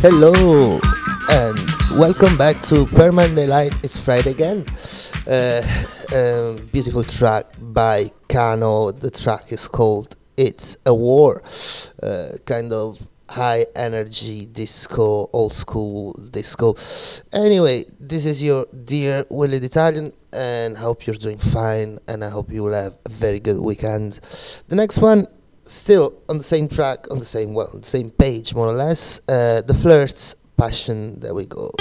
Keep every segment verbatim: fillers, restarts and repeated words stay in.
Hello and welcome back to Permanent Daylight. It's Friday again. Uh, um, beautiful track by Kano. The track is called It's a War. Uh, kind of high energy disco, old school disco. Anyway, this is your dear Willie the Italian, and I hope you're doing fine, and I hope you will have a very good weekend. The next one, still on the same track, on the same, well, on the same page more or less, uh, The Flirts, Passion. There we go.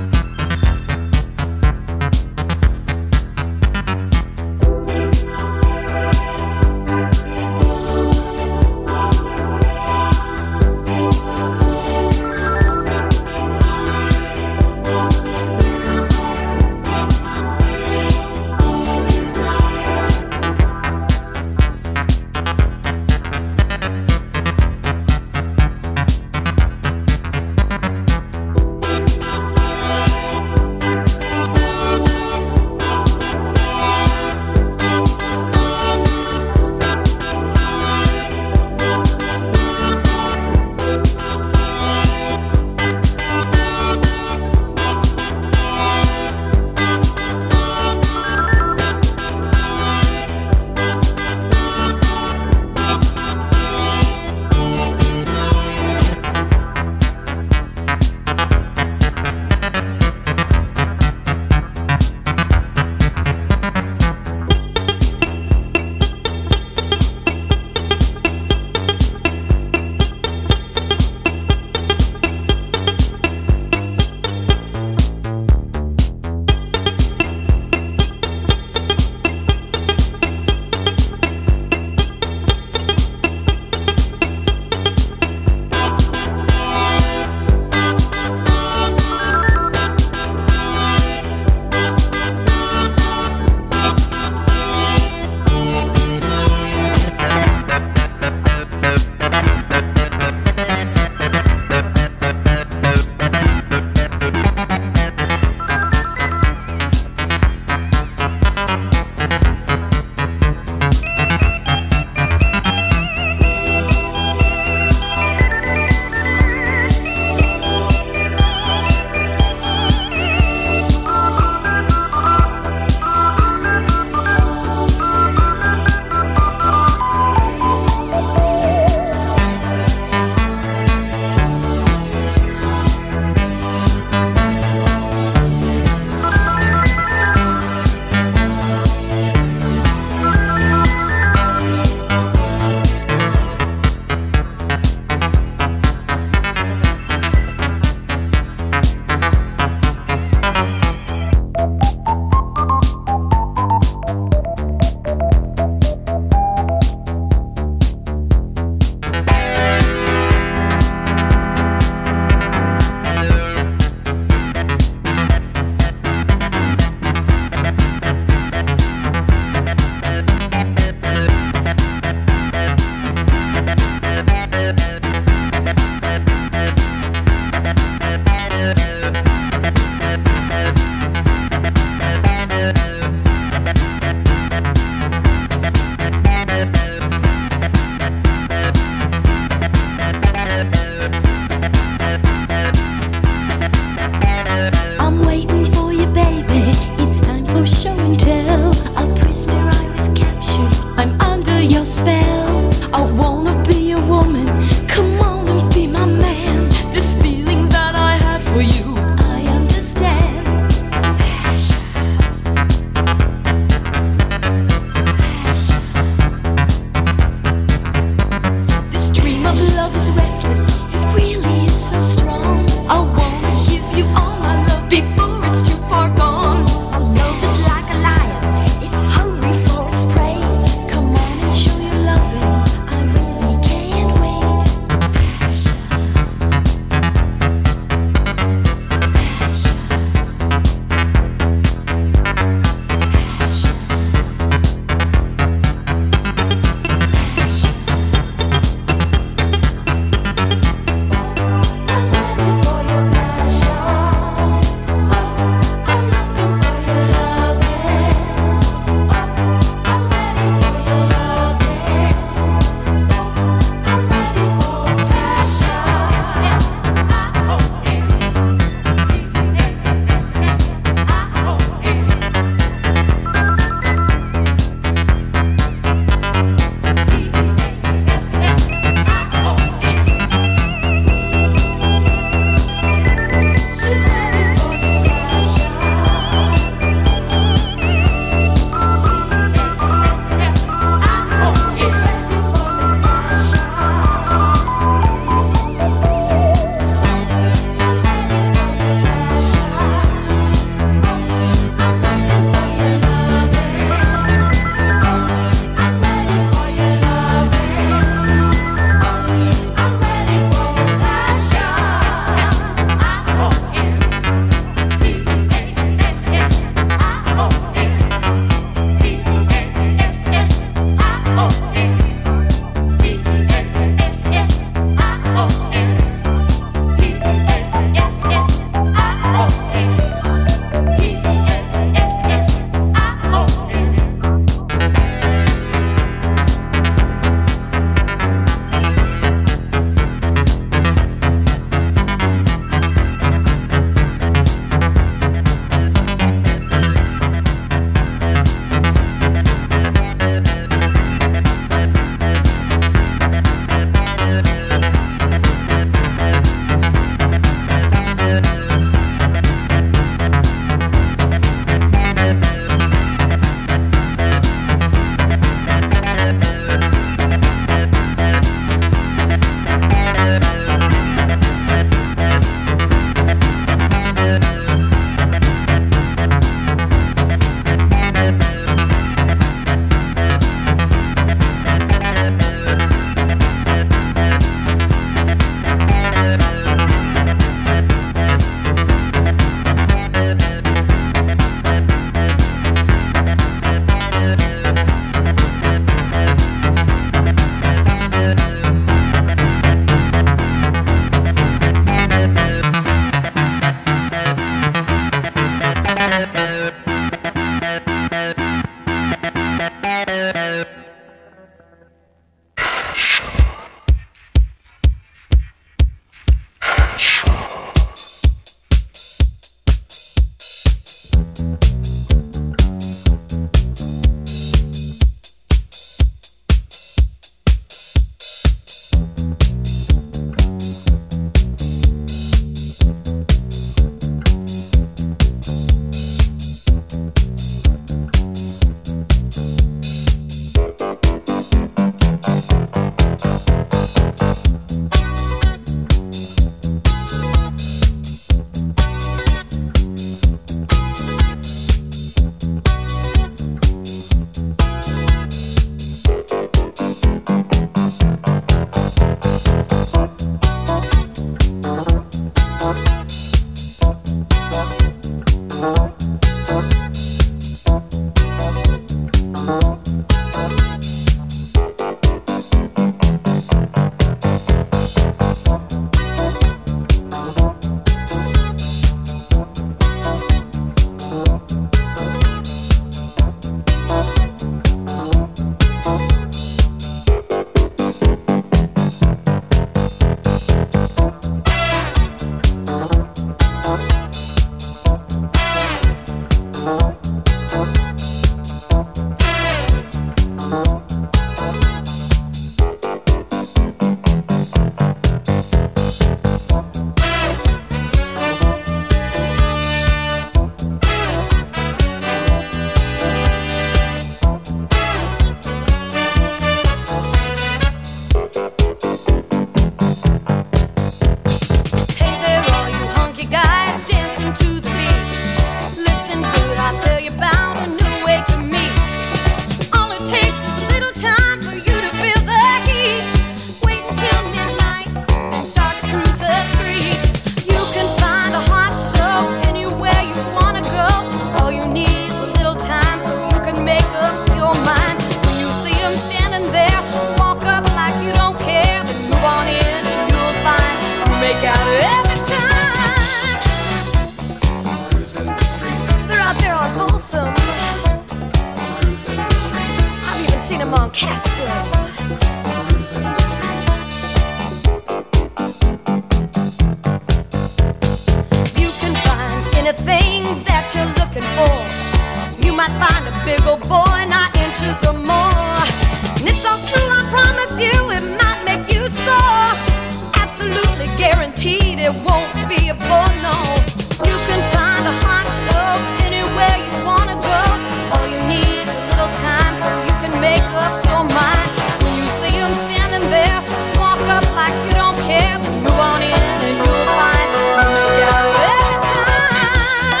it won't be a bore, no. You can find a hot show anywhere you wanna go. All you need is a little time so you can make up your mind. When you see them standing there, walk up like you don't care, then move on in and you'll find you make out every time.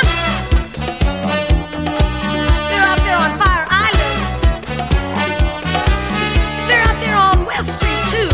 They're out there on Fire Island. They're out there on West Street too.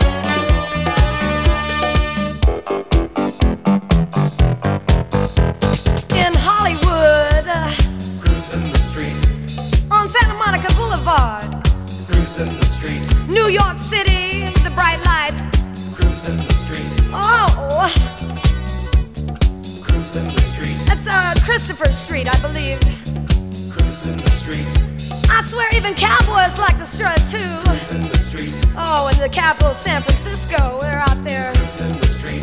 In Hollywood, uh, cruising the street. on Santa Monica Boulevard, Cruising the street. New York City, the bright lights. Cruising the street. Oh, Cruising the street. that's uh, Christopher Street, I believe. Cruising the street. I swear even cowboys like to strut too. Cruising the street. Oh, and the capital, San Francisco, they're out there. Cruising the street.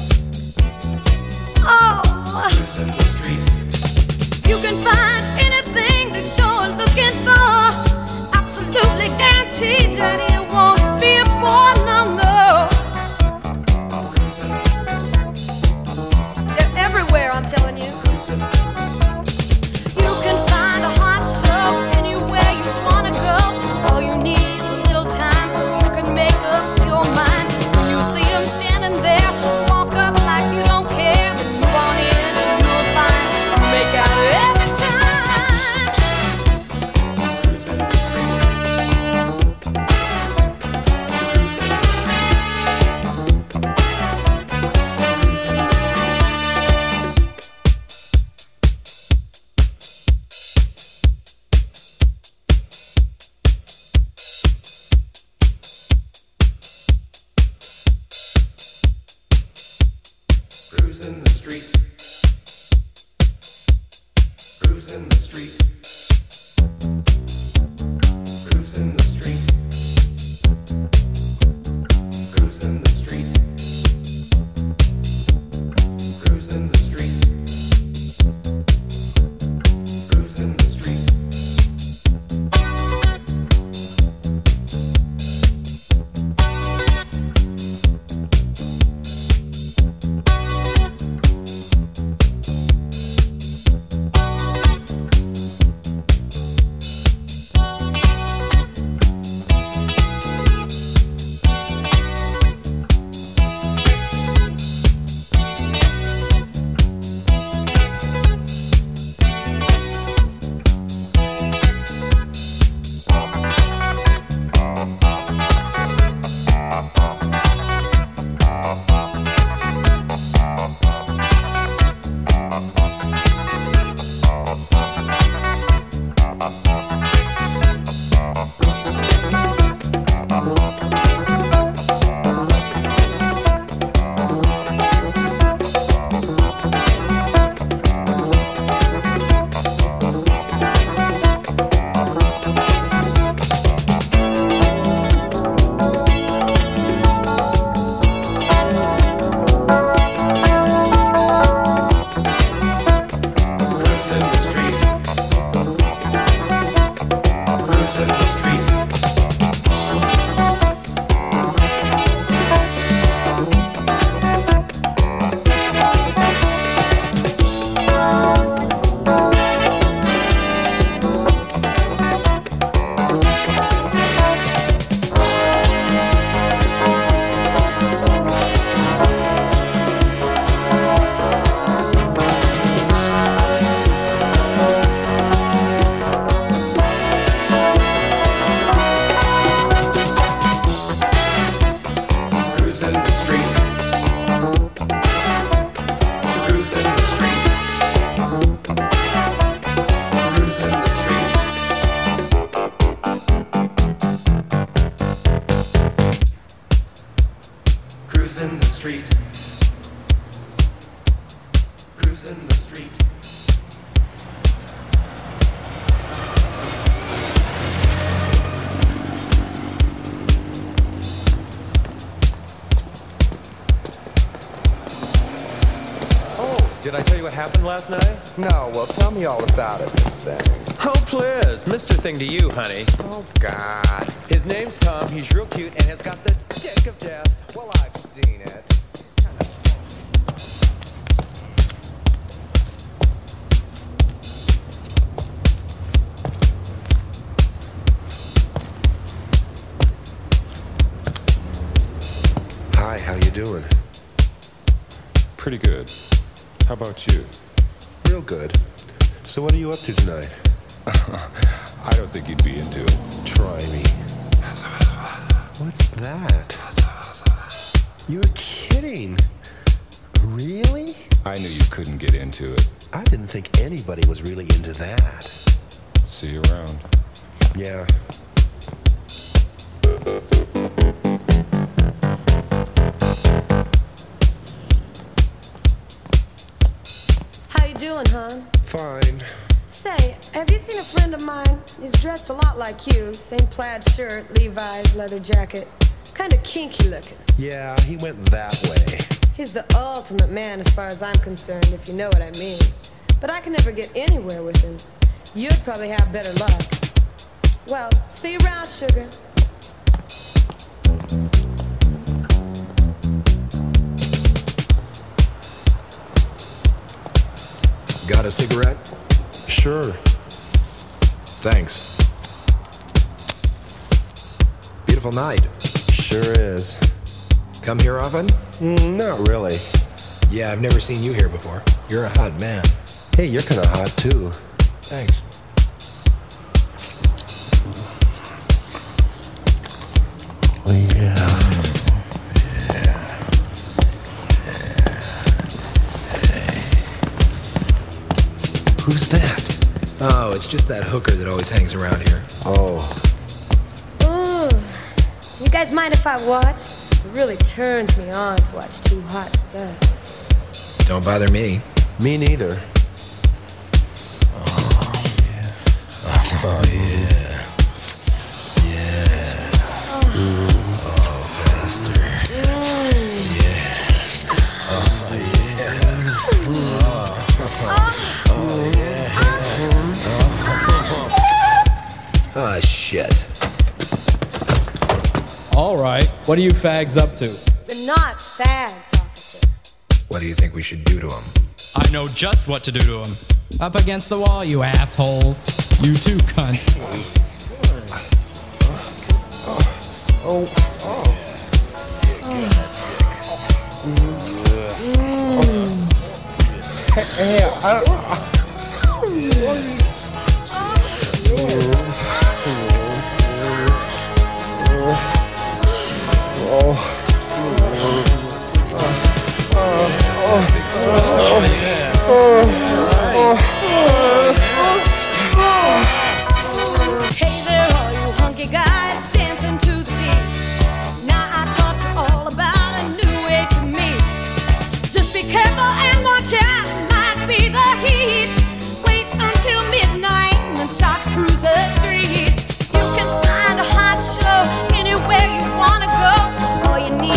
Oh, Cruising the street. you can find anything that you're looking for. Absolutely guaranteed that it won't be a bore, no, no. Cruising. They're everywhere, I'm telling you. Cruising. You can find a hot show anywhere you wanna go. All you need is a little time so you can make up your mind. When you see them standing there, walk up like you don't care, then move on in and you'll find you make out every time. Cruising the street. Cruising the street. Cruising the street. Cruising the street. Cruising the street. Cruising the street. Cruising the street. Cruising the street. Cruising the street. Cruising the street. Cruising the street. Cruising the street. Cruising the street. Cruising the street. Did I tell you what happened last night? No, well, tell me all about it, Miss Thing. Oh, please. Mister Thing to you, honey. Oh, God. His name's Tom. He's real cute and has got the dick of death. Well, I've seen it. She's kind of... Hi, how you doing? Pretty good. How about you? Real good. So what are you up to tonight? I don't think you'd be into it. Try me. What's that? You're kidding. Really? I knew you couldn't get into it. I didn't think anybody was really into that. See you around. Yeah. How you doing, hon? Fine. Say, have you seen a friend of mine? He's dressed a lot like you. Same plaid shirt, Levi's, leather jacket. Kind of kinky looking. Yeah, he went that way. He's the ultimate man as far as I'm concerned, if you know what I mean. But I can never get anywhere with him. You'd probably have better luck. Well, see you around, sugar. Got a cigarette? Sure. Thanks. Beautiful night. Sure is. Come here often? Mm, not really. Yeah, I've never seen you here before. You're a hot man. Hey, you're kind of hot too. Thanks. Yeah. Who's that? Oh, it's just that hooker that always hangs around here. Oh. Ooh. You guys mind if I watch? It really turns me on to watch two hot studs. Don't bother me. Me neither. Oh, yeah. Oh, yeah. Yeah. Oh, oh faster. Mm. Yeah. Oh, yeah. Oh, oh yeah. Oh, shit. All right, what are you fags up to? They're not fags, officer. What do you think we should do to him? I know just what to do to him. Up against the wall, you assholes. You too, cunt. Oh. Oh. Hey, hey, I Hey there, all you hunky guys dancing to the beat. Now I taught you all about a new way to meet. Just be careful and watch out, it might be the heat. Wait until midnight and then start to cruise the streets. You can find a hot show anywhere you wanna go. All you need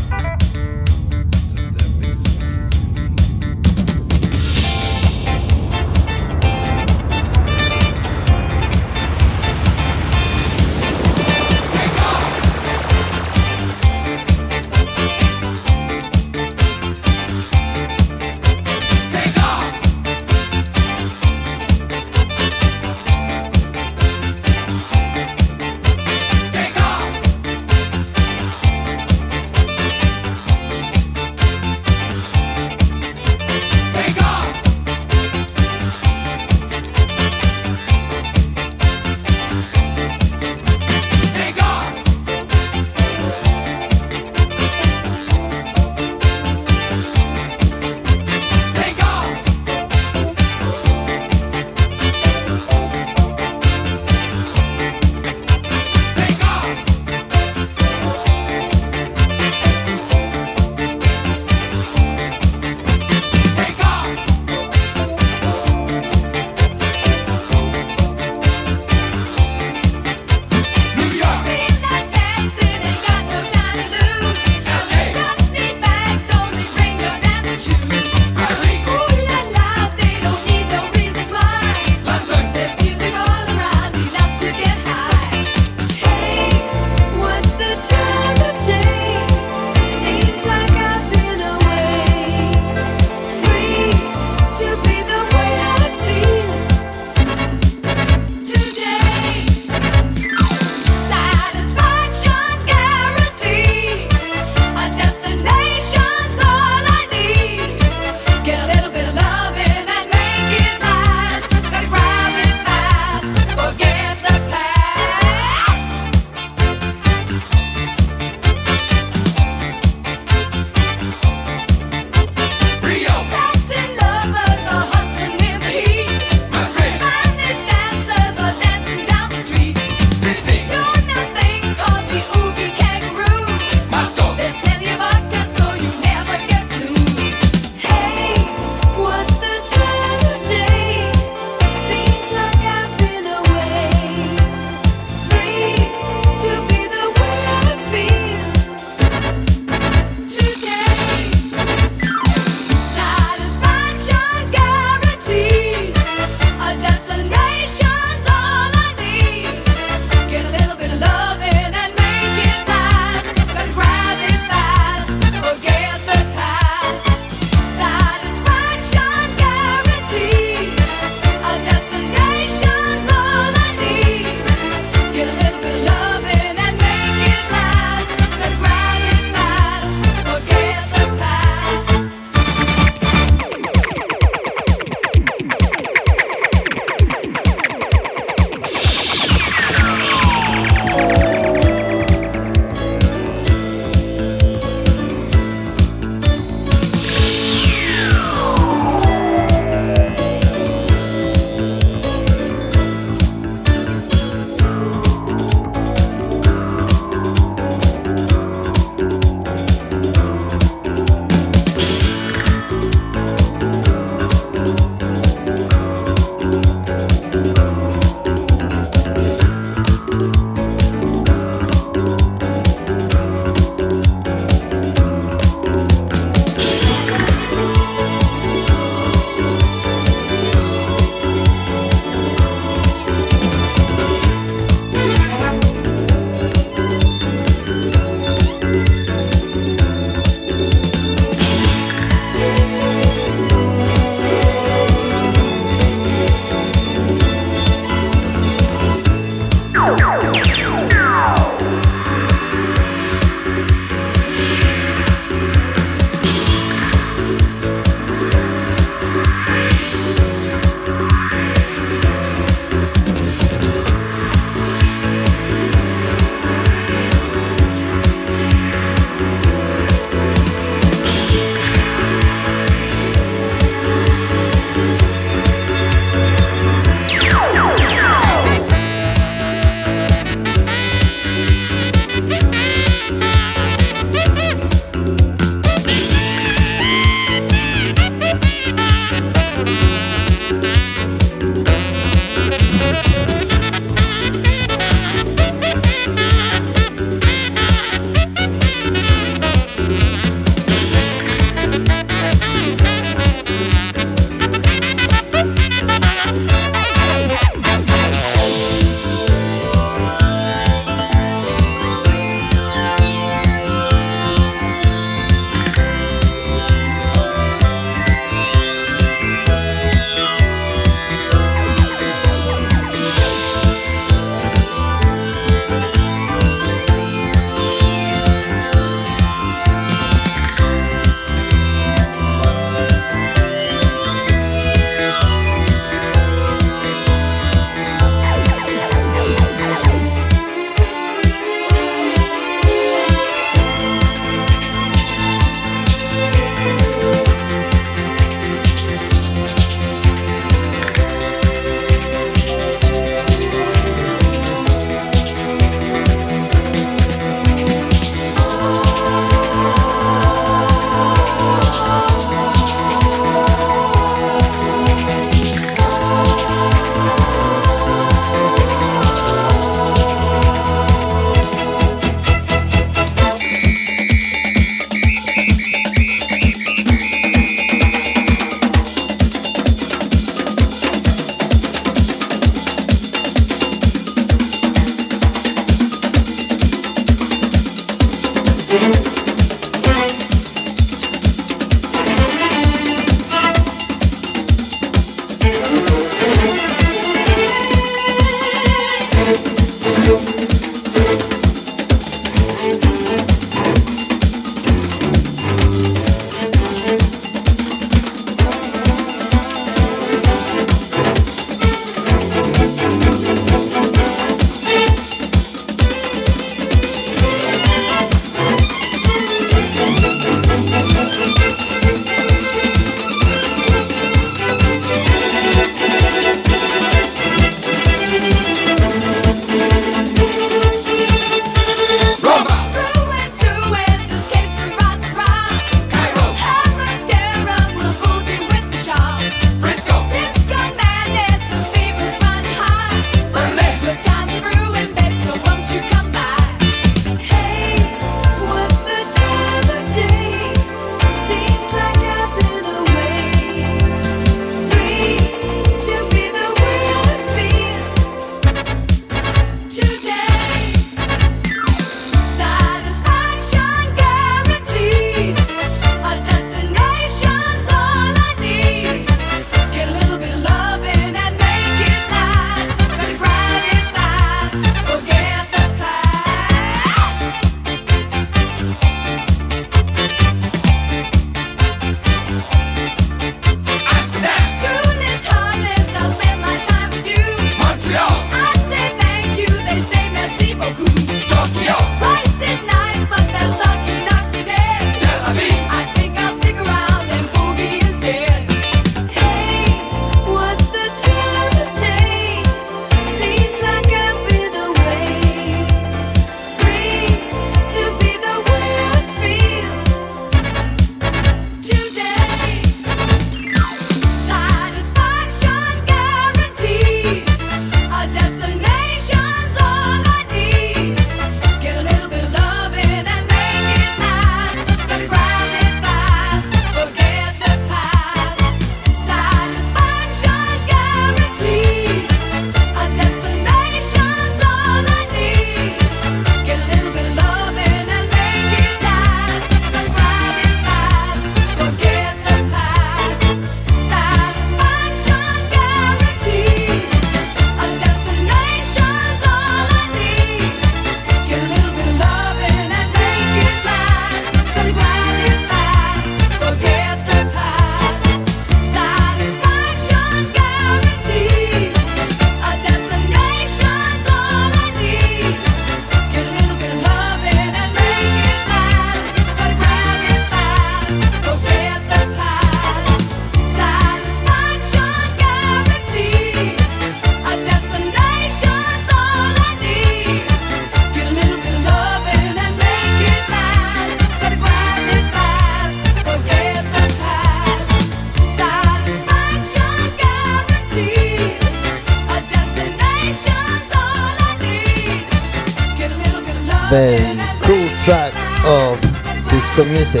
very cool track of disco music,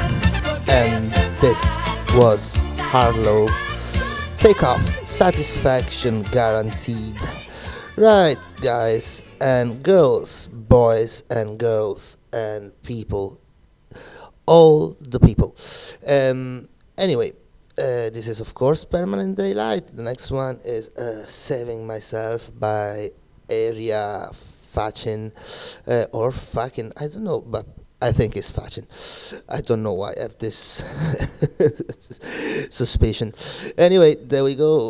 and this was Harlow. Take off, satisfaction guaranteed. Right, guys and girls, boys and girls and people, all the people. Um, anyway, uh, this is of course Permanent Daylight. The next one is uh, Saving Myself by Area Facin, uh, or fucking, I don't know, but I think it's Facin. I don't know why I have this suspicion. Anyway, there we go.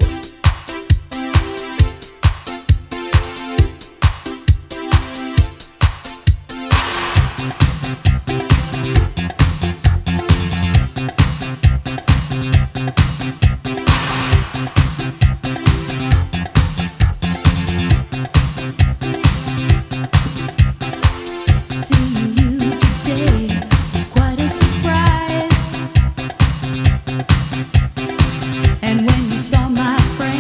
And when you saw my friend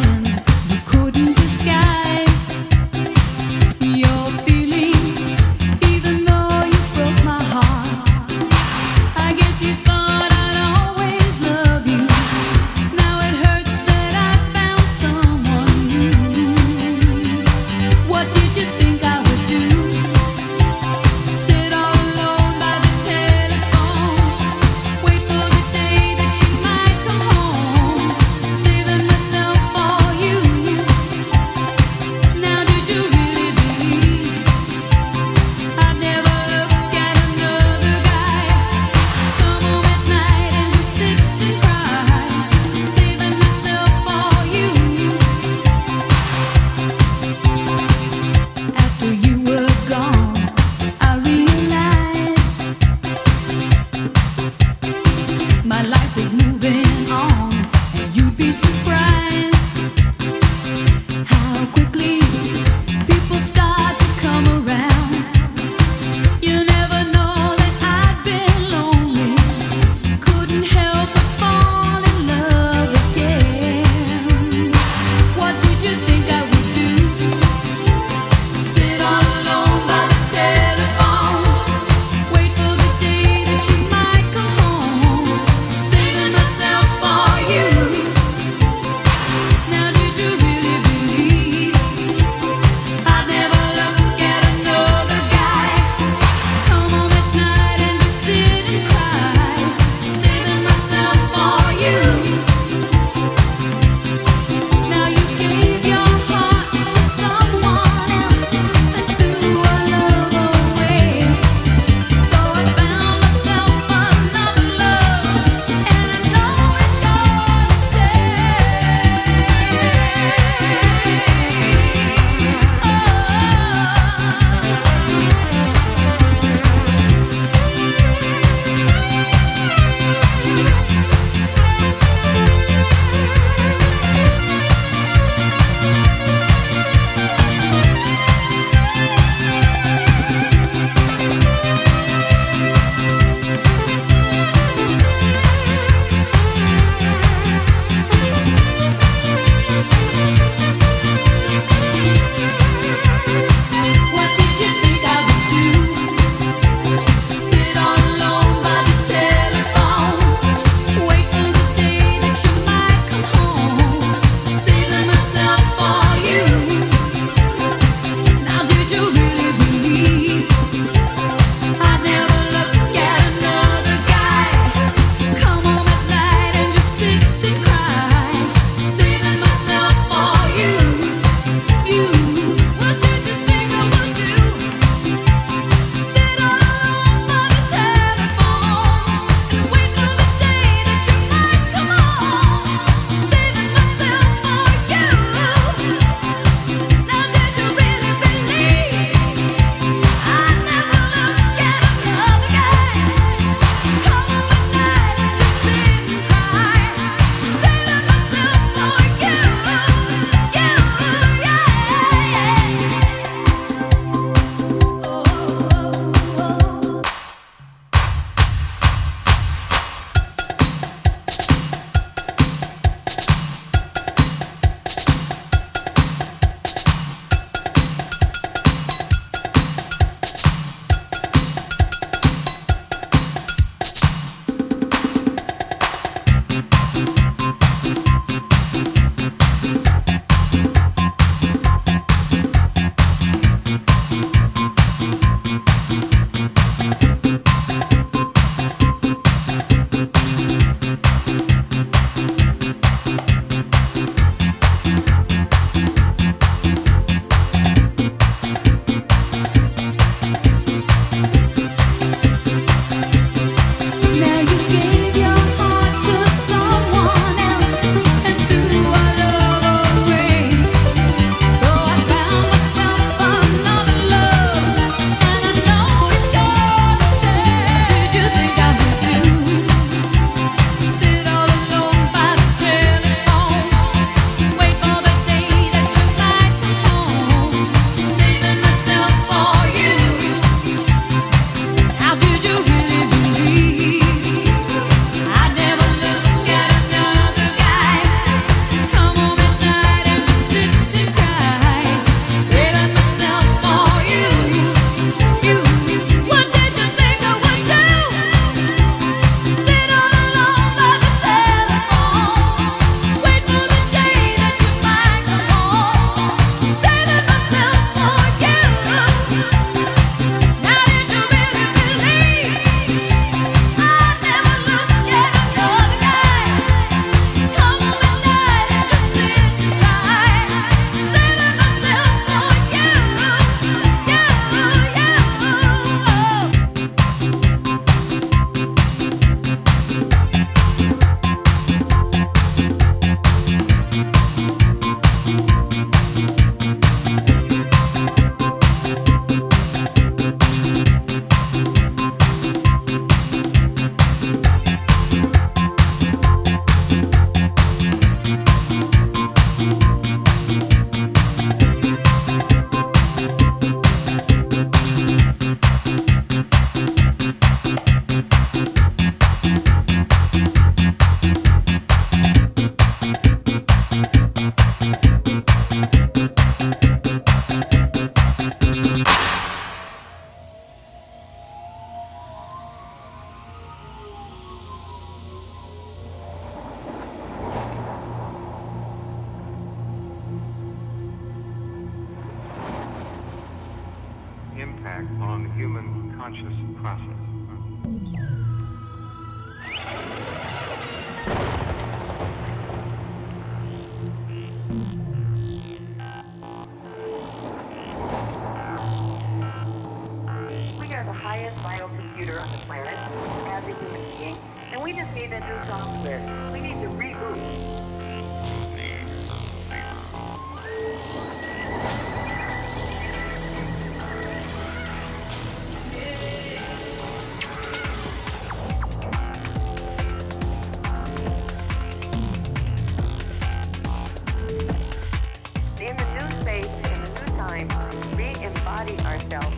impact on human conscious process. We are the highest biocomputer on the planet as a human being, and we just need a new software. We need to reboot. In the new space, in the new time, re-embody ourselves.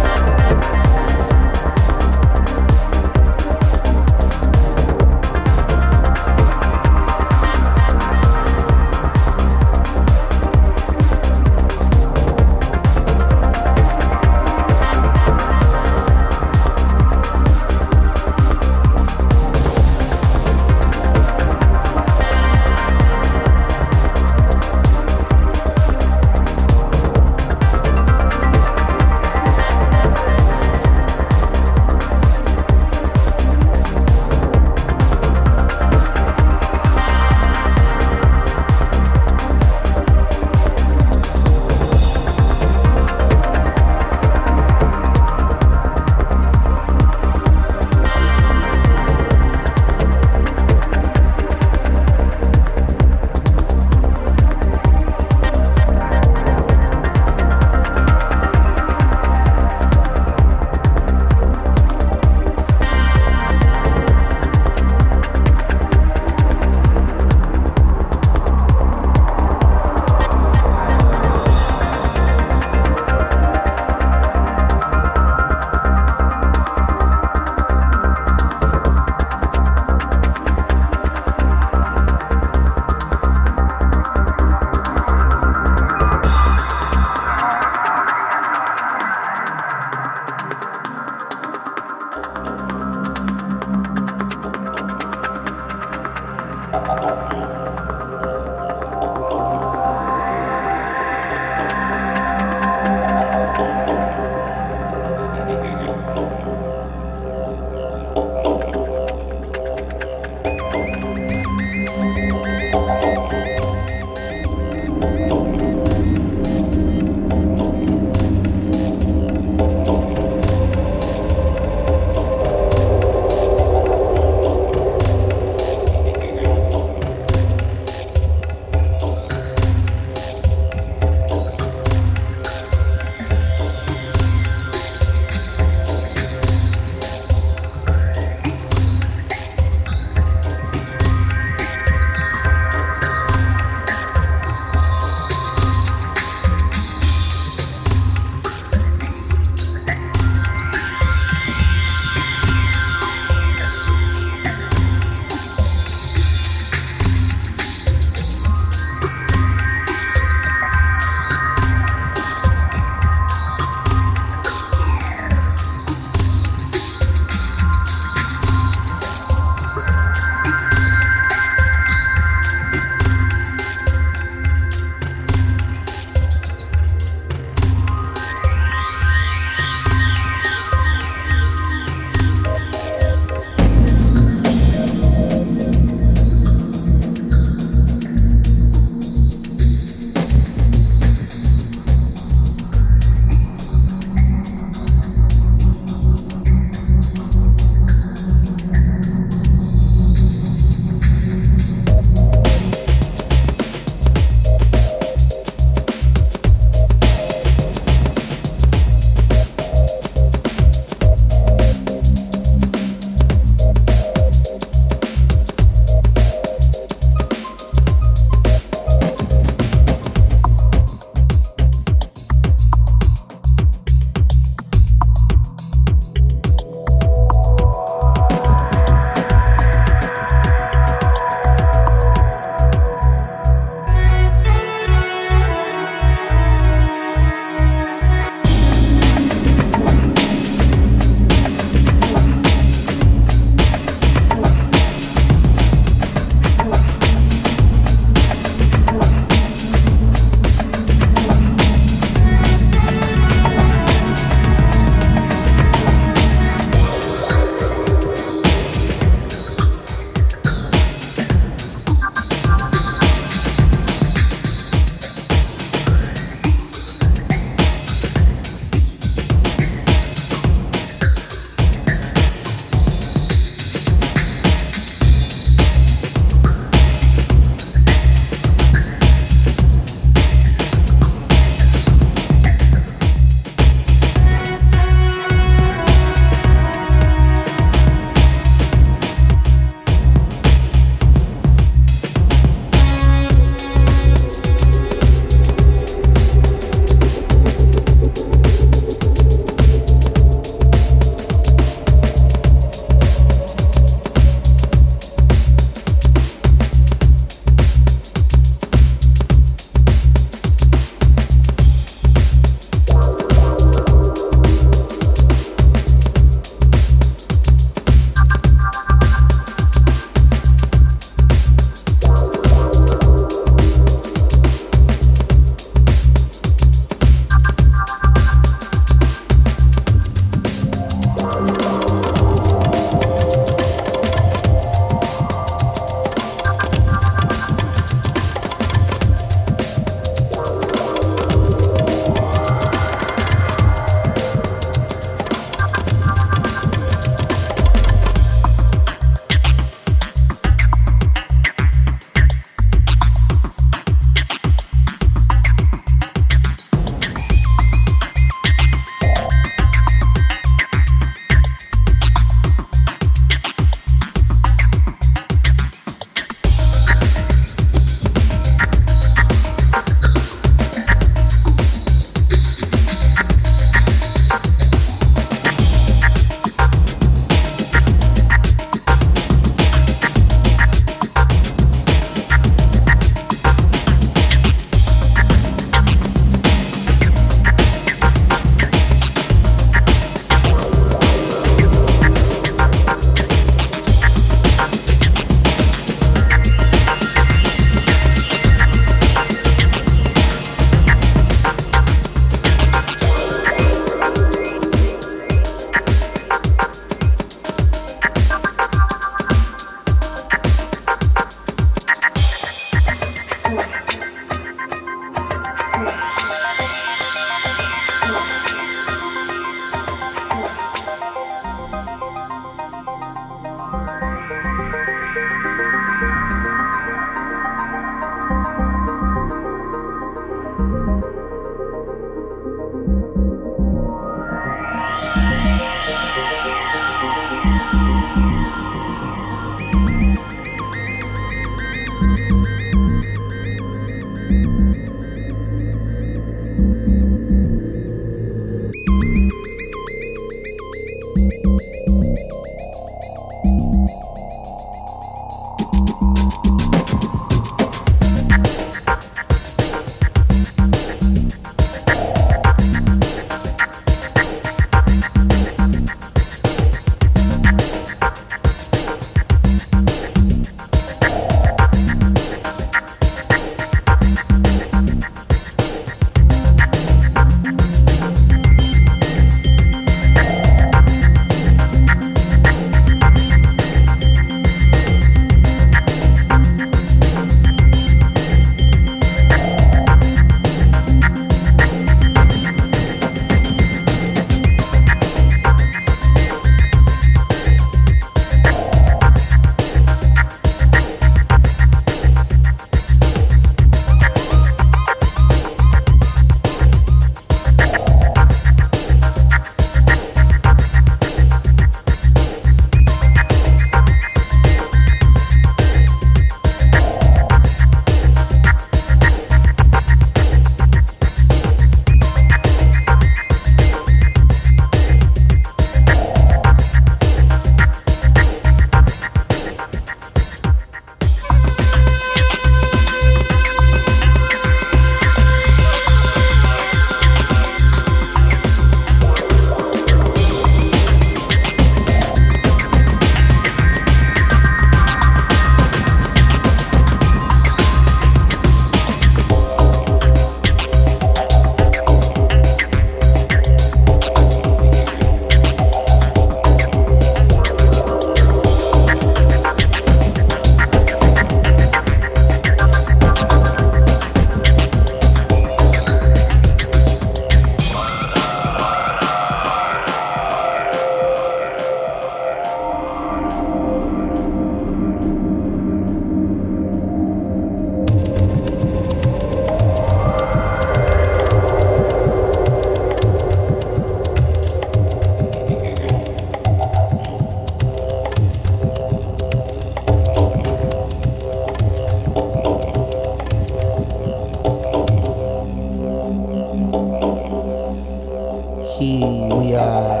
Here we are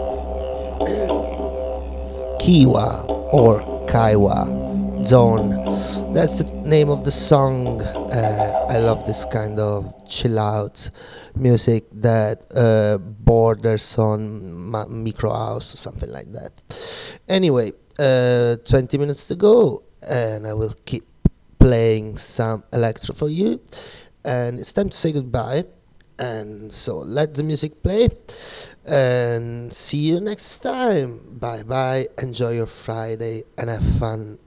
Kiwa or Kaiwa Zone. That's the name of the song. Uh, I love this kind of chill out music that uh, borders on ma- micro house or something like that. Anyway, uh, twenty minutes to go, and I will keep playing some electro for you. And it's time to say goodbye. And so let the music play. And see you next time. Bye bye. Enjoy your Friday and have fun.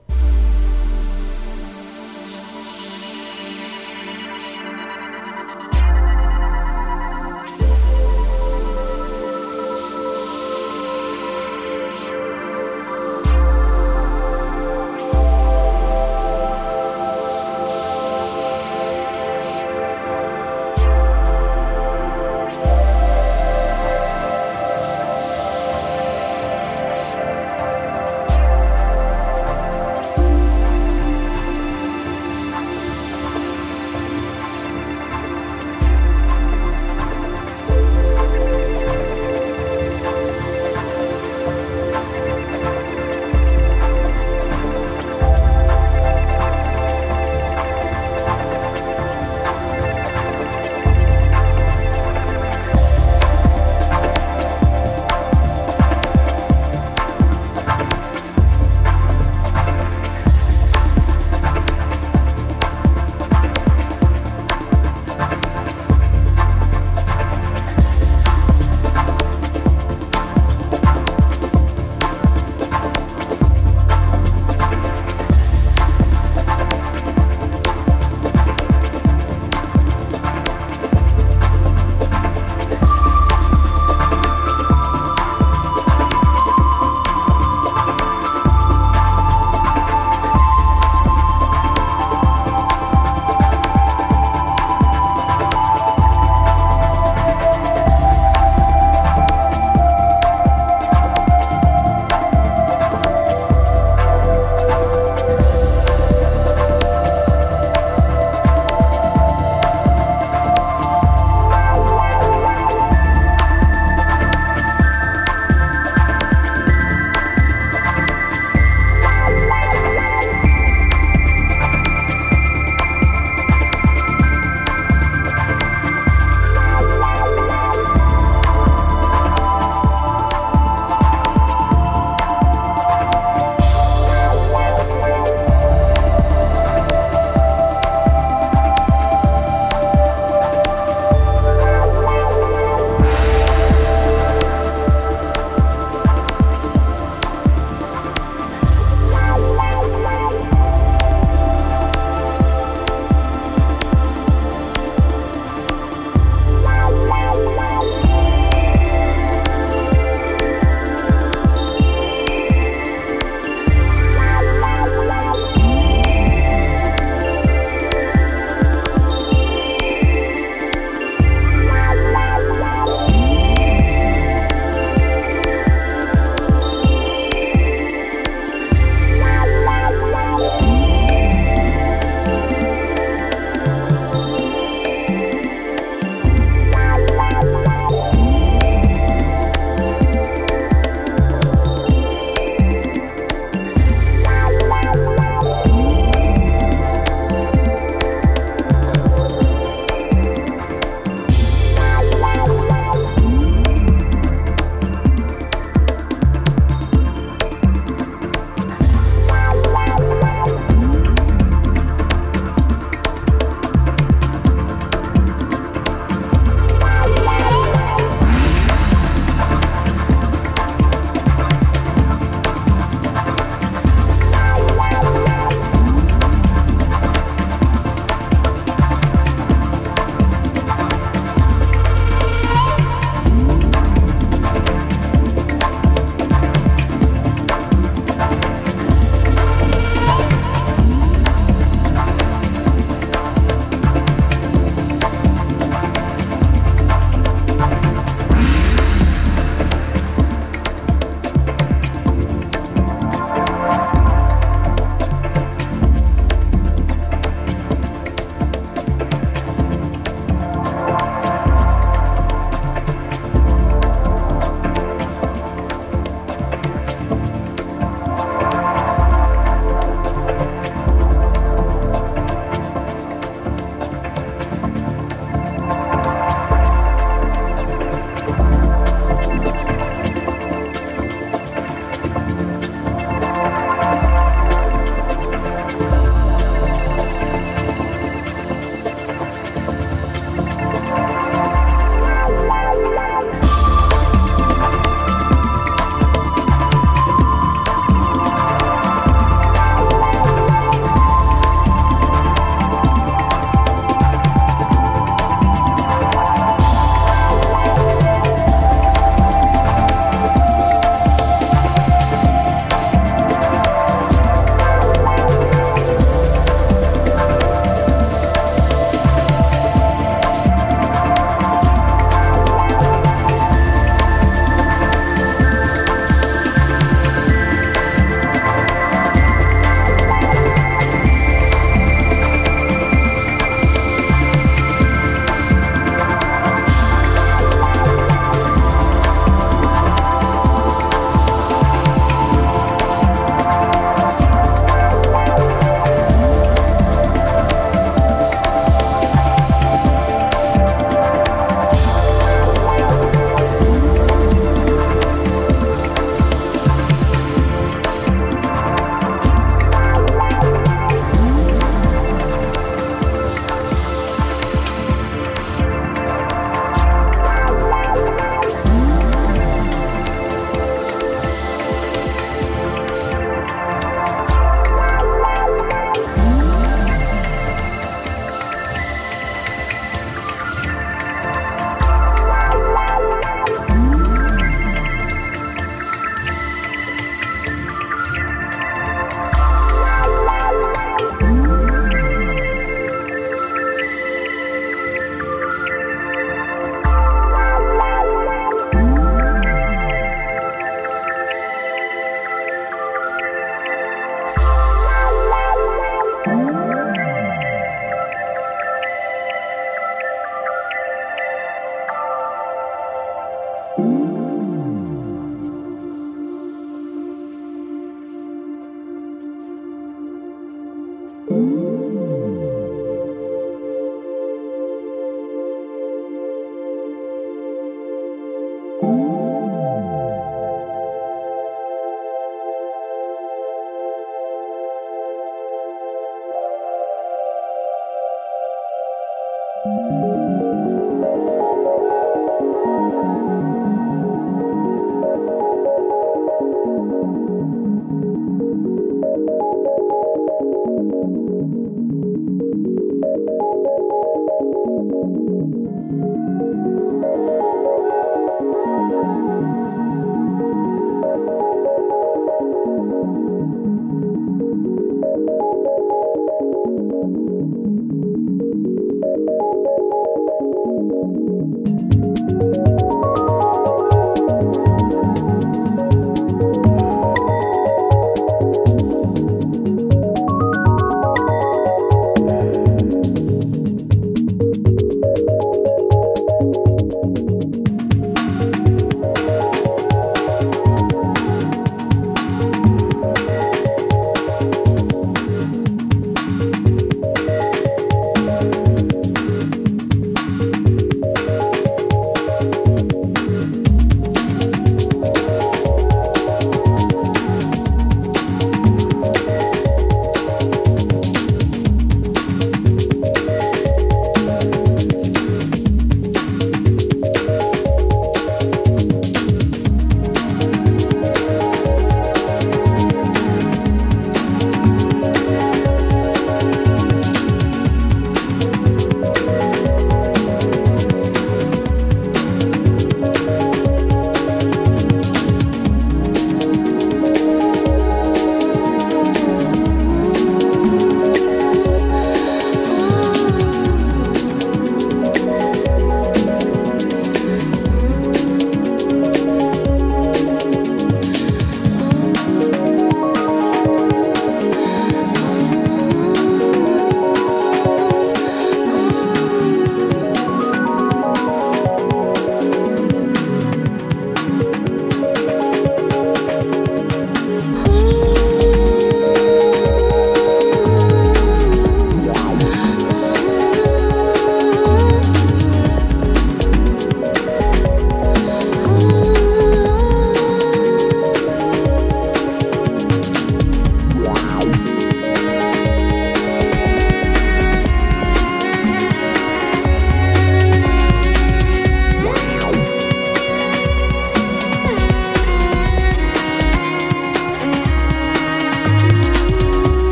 you